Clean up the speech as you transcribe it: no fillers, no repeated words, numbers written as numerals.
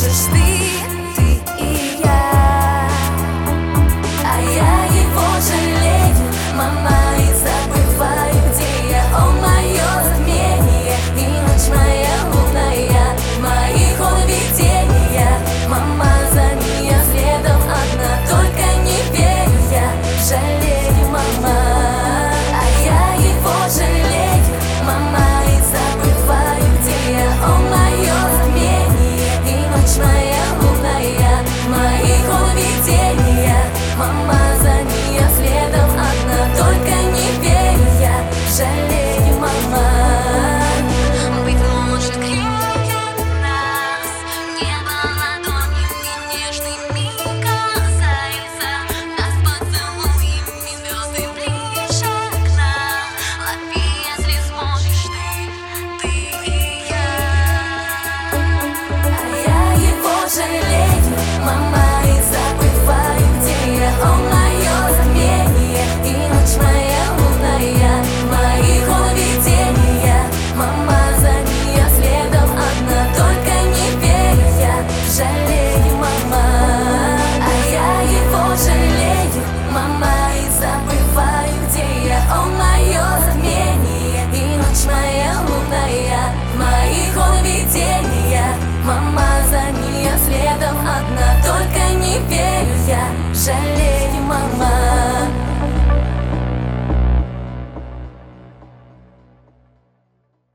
можешь ты и я. А я его жалею, мама, и забываю, где я. О, мое затмение и ночь моя лунная, моих он видения. Мама, за нее следом одна, только не верю я, жалею, мама. А я его жалею, мама, и забываю, где я. О, мое затмение и ночь моя лунная, моих он видения. Мама, за нее следом одна, только не верю я, жалею, мама. Быть может, крепких нас небо ладонями нежными касается, нас поцелуями звезды ближе к нам. Лови, если сможешь ты и я. А я его жалею, мама.